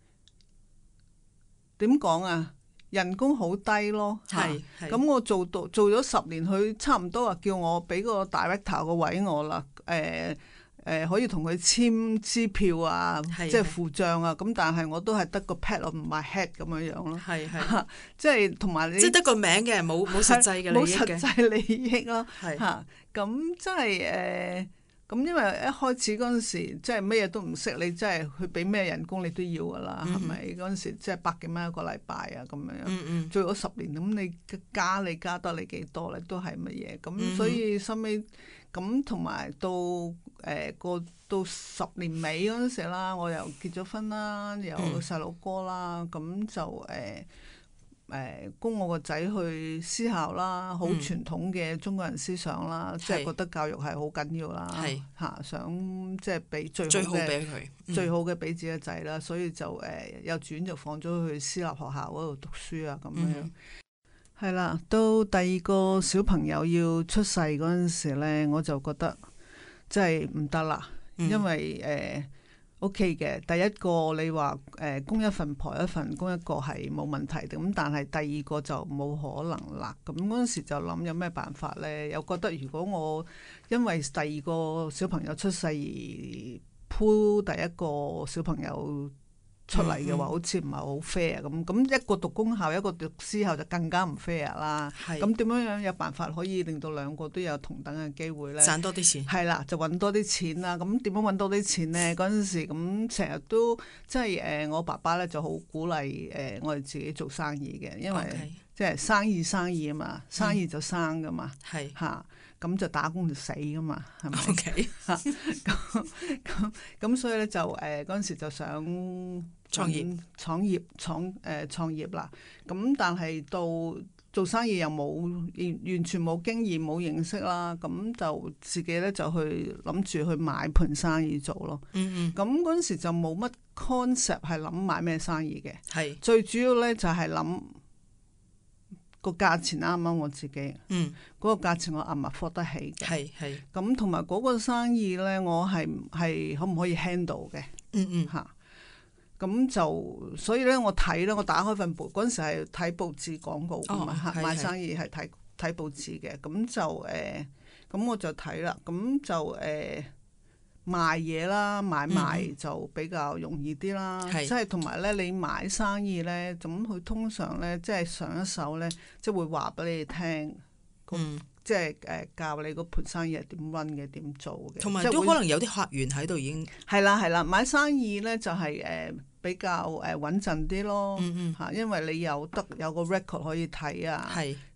點講啊？人工好低咯，係。咁我做到做咗十年，佢差唔多話叫我俾個 director 個位我啦。誒、呃、誒、呃，可以同佢簽支票啊，即係付帳啊。咁但係我都係得個 pad 咯，唔係 head 咁樣樣咯。係係，即係同埋你即係得個名嘅，冇冇實際嘅利益嘅，冇實際利益咯。係嚇，咁即係誒。呃咁因為一開始嗰陣時，即係咩嘢都唔識，你真係去俾咩人工你都要噶啦，係咪？嗰陣時即係百幾蚊一個禮拜啊，咁樣。嗯嗯。做咗十年，咁你加你加得你幾多咧？都係乜嘢？咁、嗯、所以收尾咁同埋到誒個、呃、到十年尾嗰陣時啦，我又結咗婚啦，有細路哥啦，咁、嗯、就誒。呃誒供我個仔去私校啦，好傳統嘅中國人思想啦，嗯、即係覺得教育係好緊要啦，嚇想即係俾最好嘅最好嘅俾自己個仔啦，所以就誒幼稚園就放咗去私立學校嗰度讀書啊咁樣。係、嗯、啦，到第二個小朋友要出世嗰陣時咧，我就覺得即係唔得啦，嗯、因為誒。呃 O.K. 嘅，第一個你話誒、呃、供一份婆一份，供一個係冇問題嘅，咁但係第二個就冇可能啦。咁嗰陣時就諗有咩辦法咧？又覺得如果我因為第二個小朋友出世而鋪第一個小朋友出嚟嘅話，嗯嗯好似唔係好 fair 咁。咁一個讀公校，一個讀私校就更加唔 fair 啦。咁點樣樣有辦法可以令到兩個都有同等嘅機會咧？賺多啲錢。係啦，就揾多啲錢啦。咁點樣揾多啲錢咧？嗰陣時咁成日都即係誒，我爸爸咧就好鼓勵誒、呃、我哋自己做生意嘅，因為 Okay. 即係生意生意啊嘛，生意就生噶嘛。係嚇、嗯。咁就打工就死噶嘛，係咪？OK，咁咁咁，所以咧就誒嗰陣時就想創業、創業、創誒創業啦。咁但係到做生意又冇完完全冇經驗、冇認識啦。咁就自己咧就去諗住去買盤生意做咯。嗯嗯。咁嗰陣時就冇乜 concept 係諗買咩生意嘅。係是最主要咧就係諗。個價錢啱唔啱我自己？嗯，嗰個價錢我啱唔啱付得起嘅？係係。咁同埋嗰個生意咧，我係係可唔可以 handle 嘅？嗯嗯。嚇、啊，咁就所以咧，我睇咧，我打開份報嗰陣時係睇報紙廣告㗎嘛嚇，賣生意係睇睇報紙嘅。咁就誒，咁、呃、我就睇啦。咁就誒。呃賣嘢啦，買賣就比較容易啲啦。即係同埋咧，你買生意咧，咁佢通常咧，即係上一手咧，即係會話俾你聽，嗯、即係誒教你嗰盤生意係點 run 嘅，點做嘅。同埋都可能有啲客源喺度已經。係啦係啦，買生意咧就係、是、誒、呃、比較誒穩陣啲咯。嚇、嗯嗯，因為你有得有個 record 可以睇啊。係。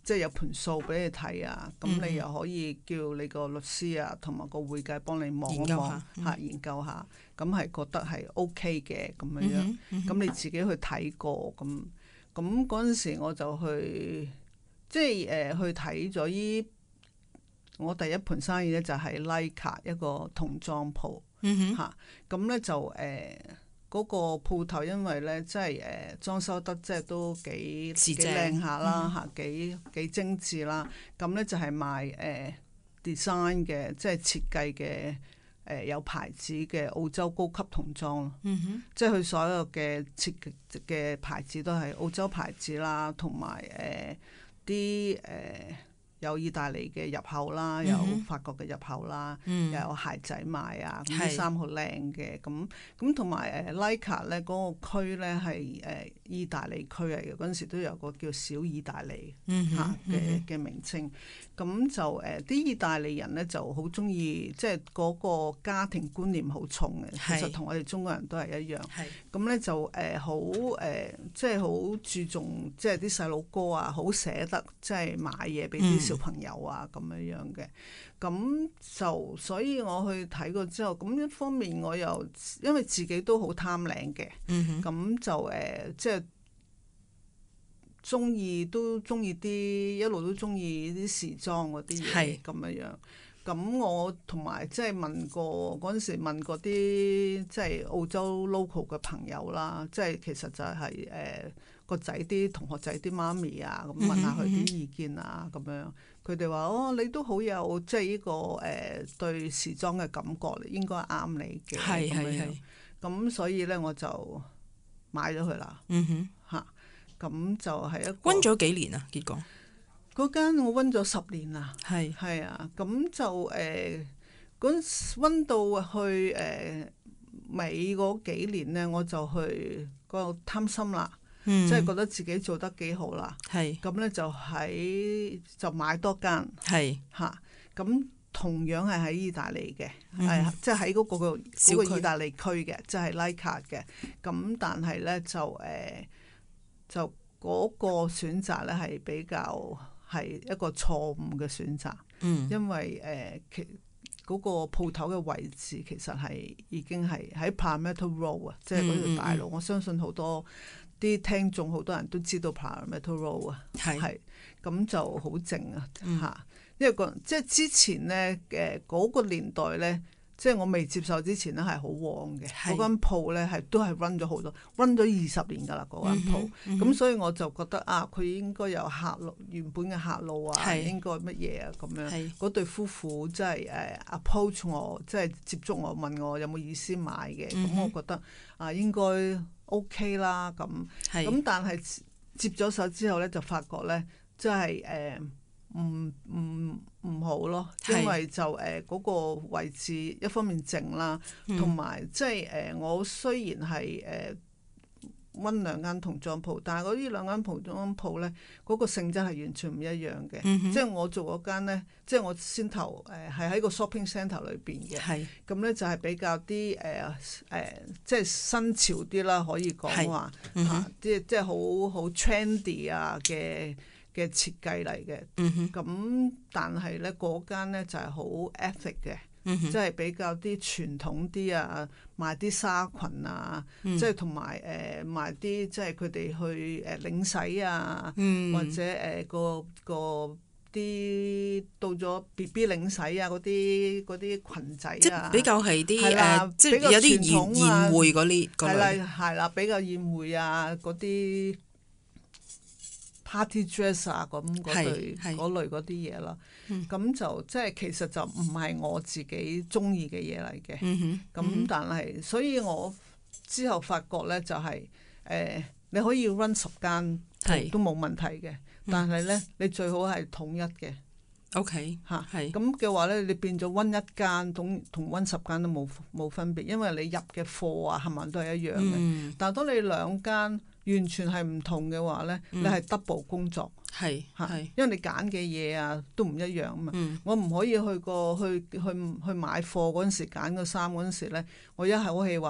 即係有盤數俾你睇啊，咁、嗯、你又可以叫你個律師啊同埋個會計幫你望一望嚇，研究下，咁係、嗯、覺得係 OK 嘅咁樣樣，咁、嗯嗯、你自己去睇過咁，咁嗰陣時我就去即係誒、呃、去睇咗依我第一盤生意咧，就係 Laika 一個童裝鋪嚇，咁咧、嗯哼啊、就誒。呃嗰個鋪頭因為咧，即係誒裝修得即係都幾幾靚下啦嚇，幾幾精緻啦。咁咧就係賣誒、呃、design 嘅，即係設計嘅誒、呃、有牌子嘅澳洲高級童裝咯。嗯、哼即係佢所有嘅設計嘅牌子都係澳洲牌子啦，同埋誒啲誒。呃有意大利嘅入口啦，有法國嘅入口啦，嗯、又有鞋仔賣啊，咁啲衫好靚嘅，咁咁同埋誒 Laika 咧嗰個區咧係誒意大利區嚟嘅，嗰陣時都有個叫小意大利嚇嘅嘅名稱，咁就誒啲、呃、意大利人咧就好中意，即係嗰個家庭觀念好重嘅，是其實同我哋中國人都係一樣，咁咧是就誒好誒，即係好注重，即係啲細路哥啊，好捨得即係買嘢俾啲小朋友啊咁樣樣嘅，咁就所以我去睇過之後，咁一方面我又因為自己都好貪靚嘅，咁、嗯、哼就誒、呃、即係中意都中意啲一路都中意啲時裝嗰啲嘢咁樣樣。咁我同埋即係問過嗰陣時問過啲即係澳洲 local 嘅朋友啦，即係其實就係、是、誒、呃、個仔啲同學仔啲媽咪啊，咁問下佢啲意見啊咁樣。佢哋話：哦，你都好有即係呢個誒、呃、對時裝嘅感覺，應該啱你嘅。係係係。咁所以咧，我就買咗佢啦。嗯哼，嚇，咁就係一個。 溫咗幾年啊？結果嗰間我溫咗十年啦。係係是啊，咁就誒嗰陣溫到去誒、呃、尾嗰幾年咧，我就去嗰度貪心啦。嗯、即係覺得自己做得幾好啦，咁咧是就喺就買多間，係嚇咁同樣係喺意大利嘅，係即係喺嗰個嗰個意大利區嘅，即係 Laika 嘅。咁但係咧就誒、呃、就嗰個選擇咧係比較係一個錯誤嘅選擇，嗯、因為誒、呃、其嗰、嗰個鋪頭嘅位置其實係已經係喺 Parramatta Road 啊，即係嗰條大路，嗯嗯、我相信好多。啲聽眾好多人都知道 Parramatta Road 啊，係咁就好靜啊嚇，嗯、因為個即係之前咧誒嗰個年代咧，即係我未接受之前咧係好旺嘅，嗰是間鋪咧係都係 run 咗好多 run 咗二十年㗎啦嗰間鋪，咁、嗯嗯、所以我就覺得啊，佢應該有客路原本嘅客路啊，是應該乜嘢啊咁樣，嗰是對夫婦即係誒 approach 我，即係接觸我問我有冇意思買嘅，咁、嗯、我覺得啊應該。O.K. 啦，咁咁是但係接咗手之後咧，就發覺咧，即係誒唔唔唔好咯，是因為就誒嗰、呃那個位置一方面靜啦，同埋即係誒我雖然係誒。呃溫兩間童裝鋪，但係嗰啲兩間童裝鋪咧，嗰、嗰個性質係完全唔一樣嘅。嗯、哼即係我做嗰間咧，即係我先頭誒係喺個 shopping centre 裏邊嘅。係咁咧，就係比較啲誒誒，即係新潮啲啦，可以講話嚇，即係即係好好 trendy 啊嘅嘅設計嚟嘅。咁、嗯、哼但係咧嗰間咧就係好 ethic 嘅。嗯、即係比較啲傳統啲啊，賣啲紗裙啊，嗯、即係同埋誒賣啲即係佢哋去誒領洗啊，嗯、或者誒、呃、個個啲到咗 B B 領洗啊嗰啲嗰啲裙仔啊，即係比較係啲誒，即係有啲宴宴會嗰啲，係啦係啦，比較宴會啊嗰啲。Party dress 啊，咁嗰類嗰類嗰啲嘢啦，咁、嗯、就即係其實就唔係我自己中意嘅嘢嚟嘅。咁、嗯、哼但係，所以我之後發覺咧就係、是、誒、呃，你可以 run 十間都冇問題嘅，嗯、但係咧你最好係統一嘅。OK 嚇，係咁嘅話咧，你變咗 run 一間同同 run 十間都冇冇分別，因為你入嘅貨啊，係咪都係一樣嘅。嗯、但係當你兩間完全係唔同嘅話咧，嗯、你係 double 工作，係嚇，因為你揀嘅嘢啊都唔一樣啊嘛。嗯、我唔可以去過去去去買貨嗰陣時揀個衫嗰陣時咧，我一口氣話哦，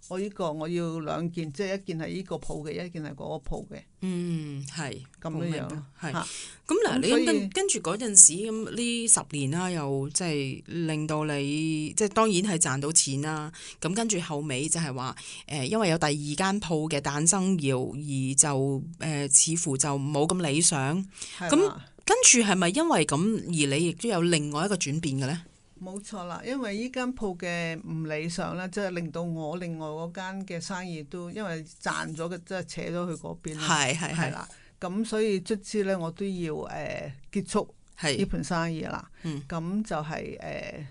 我呢個我要兩件，即係一件係呢個鋪嘅，一件係嗰個鋪嘅。 嗯，係咁樣樣， 係。 嚇咁嗱， 咁所以你跟跟住嗰陣時咁呢十年啦，又即係令到你即係當然係賺到錢啦。咁跟住後尾就係話誒，因為有第二間鋪嘅誕生，而而就誒、呃、似乎就冇咁理想。咁跟住係咪因為咁而你亦都有另外一個轉變嘅咧？ 冇錯啦，因為呢間鋪嘅唔理想咧，即係令到我另外嗰間嘅生意都因為賺咗嘅，即係扯咗去嗰邊啦。 係係係啦，咁所以卒之咧，我都要誒、呃、結束呢盤生意啦。咁、嗯、就係、是、誒、呃、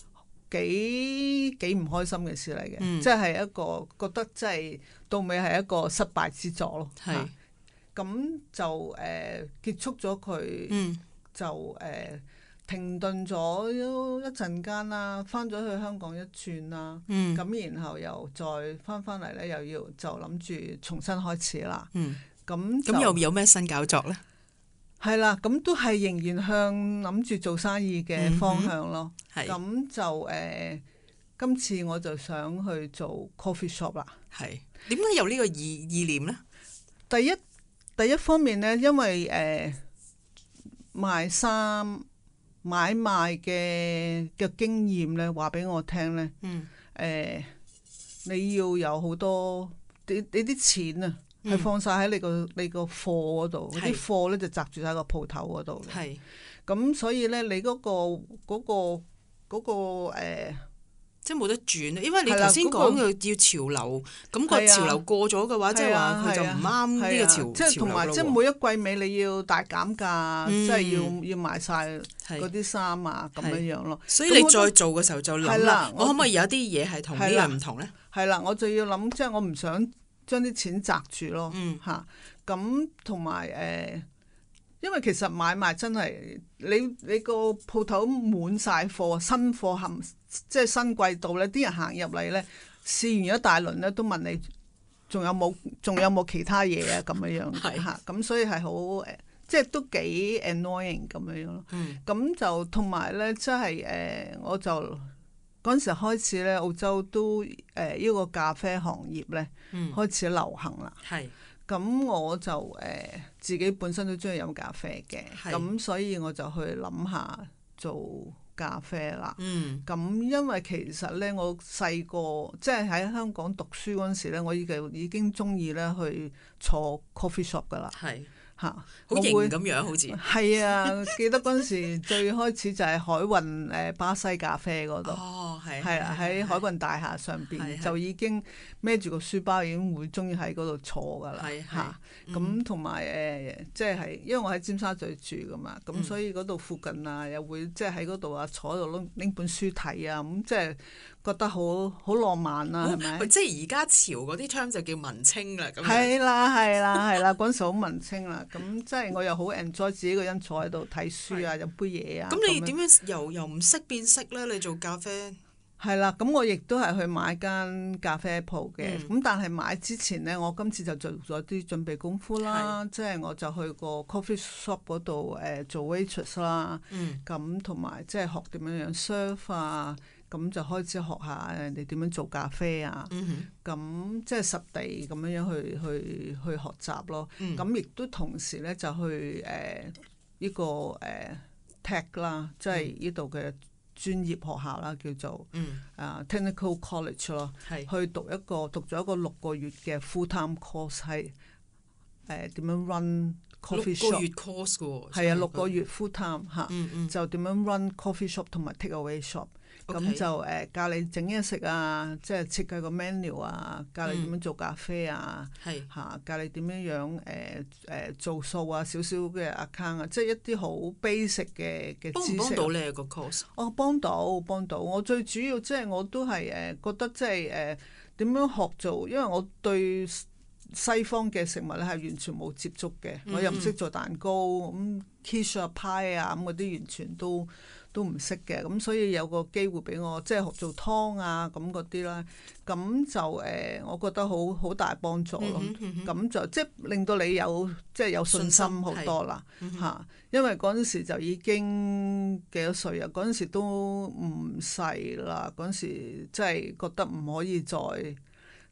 幾幾唔開心嘅事嚟嘅，嗯、即係一個覺得即係到尾係一個失敗之作咯。係咁就誒、呃、結束咗佢，嗯、就誒。呃停頓咗一陣間啦，翻咗去香港一轉啦，咁、嗯、然後又再翻翻嚟咧，又要就諗住重新開始啦。咁咁、 嗯、又有咩新搞作咧？ 係啦，咁都係仍然向諗住做生意嘅方向咯。咁、嗯、就誒、呃，今次我就想去做 coffee shop 啦。係點解有呢個意意念咧？ 第一第一方面咧，因為誒、呃、賣衫。買賣嘅嘅經驗咧，話俾我聽咧，誒、嗯呃，你要有好多你你啲錢啊，係、嗯、放晒喺你個你個貨嗰度，啲貨咧就擲住喺個鋪頭嗰度嘅。係，咁所以咧，你嗰、嗰個嗰、嗰個嗰、嗰個誒。呃即係冇得轉，因為你頭先講嘅要潮流，咁、那個潮流過咗嘅話，即係話佢就唔啱呢個潮即係同埋，即係每一季尾你要大減價，嗯、即係要要賣晒嗰啲衫啊，咁樣樣咯。 所以你再做嘅時候就諗啦，我可唔可以有一啲嘢係同呢樣唔同咧？ 係啦，我就要諗，即係我唔想將啲錢擲住咯，嚇、嗯。咁同埋誒。因為其實買賣真係你你個鋪頭滿晒貨，新貨含即係新季度咧，啲人行入嚟咧，試完一大輪咧，都問你仲有冇仲有冇其他嘢啊，咁樣樣嚇，咁所以係好誒，即係都幾 annoying 咁樣樣咯。咁、嗯、就同埋咧，即係誒，我就嗰陣時開始咧，澳洲都誒呢、呃這個咖啡行業咧、嗯、開始流行啦。係。咁我就誒、呃、自己本身都中意飲咖啡嘅，咁是所以我就去諗下做咖啡啦。嗯，咁因為其實咧，我細個即係喺香港讀書嗰陣時咧，我已經已經中意咧去坐 coffee shop 噶啦。係。嚇， 好型咁樣好似係啊！記得嗰陣時最開始就係海運誒巴西咖啡嗰度， 哦係， 係啊，喺海運大廈上邊就已經孭住個書包已經會中意喺嗰度坐噶啦，嚇咁同埋誒即係因為我喺尖沙咀住噶嘛，咁、嗯、所以嗰度附近啊又會即係喺嗰度啊坐喺度拎拎本書睇啊，咁即係覺得好好浪漫啊，係咪？ 即係而家潮嗰啲 term 就叫文青啦，咁係啦係啦係啦，嗰陣時好文青啦。咁即係我又好 enjoy 自己個人坐喺度睇書啊，飲杯嘢啊。 咁你點樣由由唔識變識咧？你做咖啡係啦，咁我亦都係去買間咖啡鋪嘅。咁、嗯、但係買之前咧，我今次就做咗啲準備功夫啦。即係我就去個 coffee shop 嗰度誒做 waitress 啦。咁同埋即係學點樣樣 serve 啊。咁就開始學下人哋點樣做咖啡啊。咁、嗯、哼即係實地咁樣樣去去去學習咯。咁亦、嗯、都同時咧就去誒呢、呃這個誒、呃、tech 啦，即係呢度嘅專業學校啦，叫做、嗯、啊 Technical College 咯。係去讀一個讀咗一個六個月嘅 full time course 係誒點樣 run coffee shop。六個月 course 嘅喎。係啊，六個月 full time 嚇、嗯嗯，就點樣 run coffee shop 同埋 take away shop。咁 Okay. 就誒、呃、教你整嘢食啊，即係設計個 menu 啊，教你點樣做咖啡啊，嚇、嗯啊、教你點樣樣誒誒做數啊，少少嘅 account 啊，即係一啲好 basic 嘅嘅知識。幫唔幫到你個 course？哦，幫到幫到，我最主要即係我都係誒、呃、覺得即係誒點樣學做，因為我對西方嘅食物咧係完全冇接觸嘅，嗯、我又唔識做蛋糕咁 quiche 啊 pie 啊咁嗰啲完全都。都唔識嘅，咁所以有個機會俾我即係學做湯啊咁嗰啲啦，咁就誒、呃，我覺得好好大幫助咯。咁、嗯嗯、就即係令到你有即係有信心好多啦嚇、嗯啊，因為嗰陣時就已經幾多歲啊？嗰陣時都唔細啦，嗰陣時即係覺得唔可以再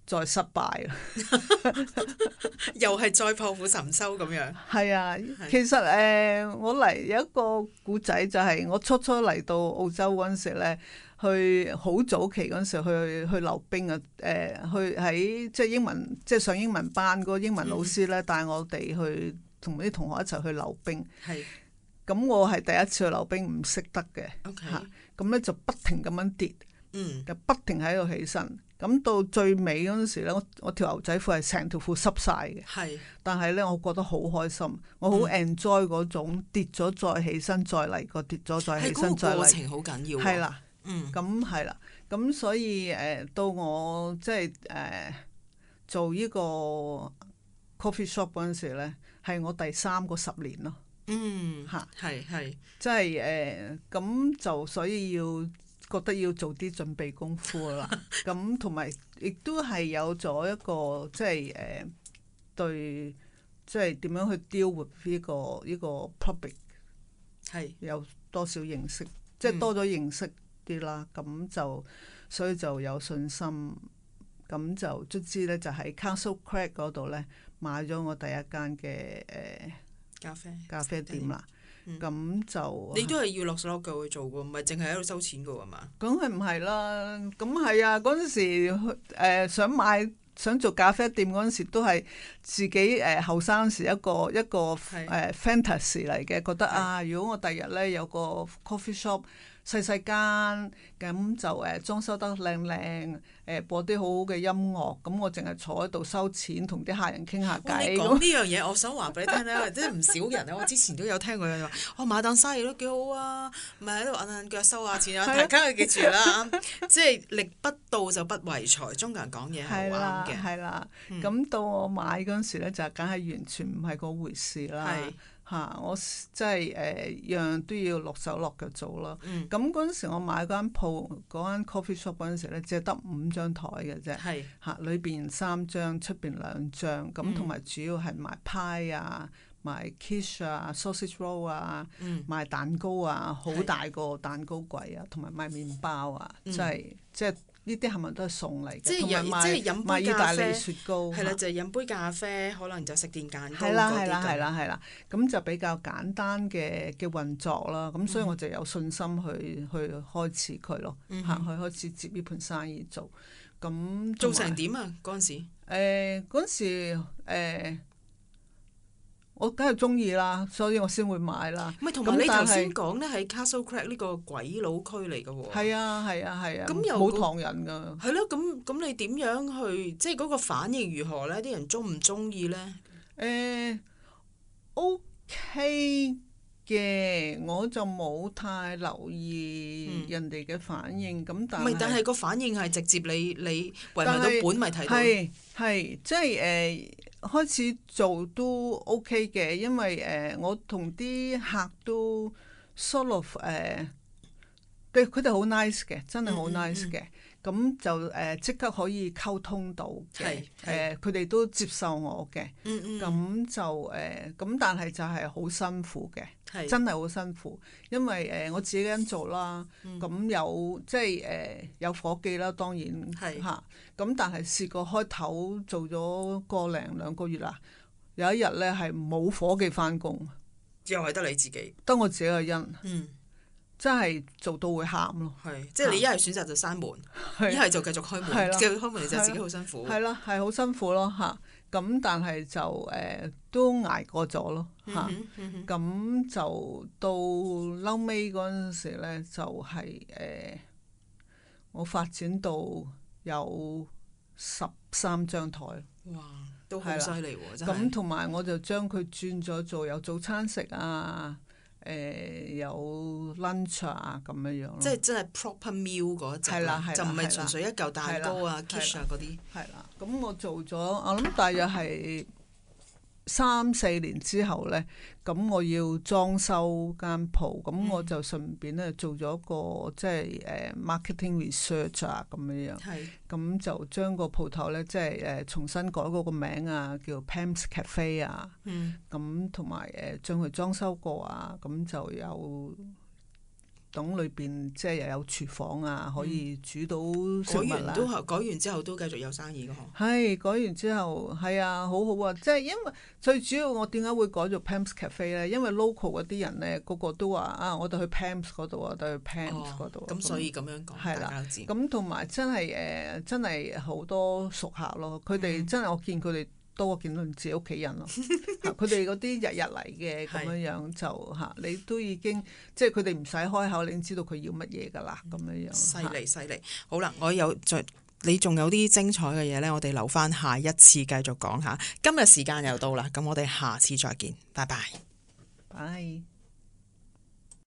再失敗啦， 又係再破釜沉舟咁樣。 係啊，其實誒、呃，我嚟有一個故仔，就係我初初嚟到澳洲嗰陣時咧，去好早期嗰陣時去去溜冰啊，誒、呃，去喺即係英文即係上英文班嗰個英文老師咧帶我哋去同啲同學一齊去溜冰。係、嗯，咁我係第一次去溜冰，唔識得嘅。OK，嚇，咁咧就不停咁樣跌，嗯，就不停喺度起身。咁到最尾嗰陣時咧，我我條牛仔褲係成條褲濕晒嘅。係是，但係咧，我覺得好開心，我好 enjoy 嗰種跌咗再起身，再嚟過跌咗再起身再嚟。係嗰個過程好緊要。係啦，嗯，咁係啦，咁所以誒、呃，到我即係誒做呢個 coffee shop 嗰陣時咧，係我第三個十年咯。嗯，嚇，係係，即係誒，咁、呃、就所以要。覺得要做啲準備功夫啦，咁同埋亦都係有咗一個即係誒、呃、對，即係點樣去 deal with 呢個呢個 public 係有多少認識，即係多咗認識啲啦，咁、嗯、就所以就有信心，咁就卒之咧就喺 Castle Craig 嗰度咧買咗我第一間嘅誒、呃、咖啡咖啡店啦。咁、嗯、就你都係要落手落腳去做㗎，唔係淨係喺度收錢㗎喎嘛？梗係唔係啦？咁係啊！嗰陣時誒、呃、想買想做咖啡店嗰陣時，都係自己誒後生時一個一個誒是、呃、fantasy 嚟嘅，覺得是啊，如果我第日咧有個 coffee shop。細細間咁就誒、呃、裝修得靚靚，誒播啲好好嘅音樂，咁我淨係坐喺度收錢，同啲客人傾下偈。你講呢樣嘢，我想話俾你聽咧，即係唔少人咧，我之前都有聽過有人話，哦買檔生意都幾好啊，咪喺度揞揞腳收下錢啊，大家要記住啦，即係力不到就不為財，中國人講嘢係啱嘅。係啦，咁、嗯、到我買嗰陣時咧，就梗係完全唔係嗰回事啦。嚇、啊！我即係誒樣樣都要落手落腳做咯。咁嗰陣時我買嗰間鋪嗰間 coffee shop 嗰陣時咧，只係得五張台嘅啫。係嚇，裏邊三張，出邊兩張。咁同埋主要係賣派啊、賣 quiche 啊、sausage roll 啊、嗯、賣蛋糕啊，好大個蛋糕櫃啊，同埋賣麵包啊，即係即係。就是呢啲係咪都係餸嚟嘅？即係飲，即係飲杯咖啡。雪糕係啦，就係飲杯咖啡，可能就食電蛋糕嗰啲咁。係啦，係啦，係啦，係啦。咁就比較簡單嘅嘅運作啦。咁所以我就有信心去去開始佢咯，行去開始接呢盤生意做。咁做成點啊？嗰陣時誒，嗰陣時誒。我梗係中意啦，所以我先會買啦。唔係，同埋你頭先講咧，喺 Castle Craig 呢個鬼佬區嚟嘅喎。係啊，係啊，係啊。咁又冇唐人㗎。係咯，咁咁你點樣去？即係嗰個反應如何咧？啲人中唔中意咧？誒，OK 嘅，我就冇太留意人哋嘅反應。咁但係唔係，但係個反應係直接你你圍埋到本咪睇到。係係，即係誒。開始做都 OK 嘅，因為誒、呃、我同啲客都 sort of 誒、呃，對佢哋好 nice 嘅，真係好 nice 嘅。咁、嗯嗯、就誒即、呃、刻可以溝通到嘅，誒佢哋都接受我嘅。嗯嗯。咁就誒，咁、呃、但係就係好辛苦嘅，是真係好辛苦。因為誒、呃、我自己咁做啦，咁、嗯、有即係誒、呃、有夥計啦，當然係嚇。咁是但係試過開頭做咗個零兩個月啦，有一日咧係冇夥計翻工，又係得你自己，得我自己個人。嗯。真係做到會喊咯，係即係你一係選擇就閂門，一係就繼續開門，繼續開門你就自己好辛苦。係啦，係好辛苦咯嚇。咁但係就誒、呃、都捱過咗咯嚇。咁、嗯嗯嗯、就到嬲尾嗰陣時咧，就係、是、誒、呃、我發展到有十三張台。哇！都好犀利喎，真係。咁同埋我就將佢轉咗做有早餐食啊。誒、呃、有 lunch 啊咁樣樣咯，即係真係 proper meal 嗰隻啦，就唔係純粹一嚿蛋糕啊、quiche 啊嗰啲。係啦，咁我做咗，我諗大約係三四年之後咧，咁我要裝修間鋪，咁、嗯、我就順便咧做咗個即係誒、呃、marketing research 啊咁樣樣。係是。咁就將個鋪頭咧，即係誒、呃、重新改嗰個名啊，叫 Pam's Cafe 啊。嗯。咁同埋誒將佢裝修過啊，咁就有棟裏邊即係又有廚房啊，可以煮到食改物啦。 完都改完之後都繼續有生意嘅嗬。 係改完之後係啊，好好啊！即係因為最主要我點解會改做 Pam's Cafe 咧？因為 local 嗰啲人咧，個個都話啊，我哋去 Pam's 嗰度啊，我哋去 Pam's 嗰度。 咁、哦、所以咁樣講， 係啦， 大家知。 咁同埋真係誒、呃，真係好多熟客咯。佢哋、嗯、真係我見佢哋多過見到自己屋企人咯。佢哋嗰啲日日嚟嘅咁樣樣就嚇，你都已經即係佢哋唔使開口，你已經知道佢要乜嘢㗎啦。咁樣樣犀利犀利。好啦，我有再你仲有啲精彩嘅嘢咧，我哋留翻下一次繼續講下。今日時間又到啦，咁我哋下次再見，拜拜。 拜。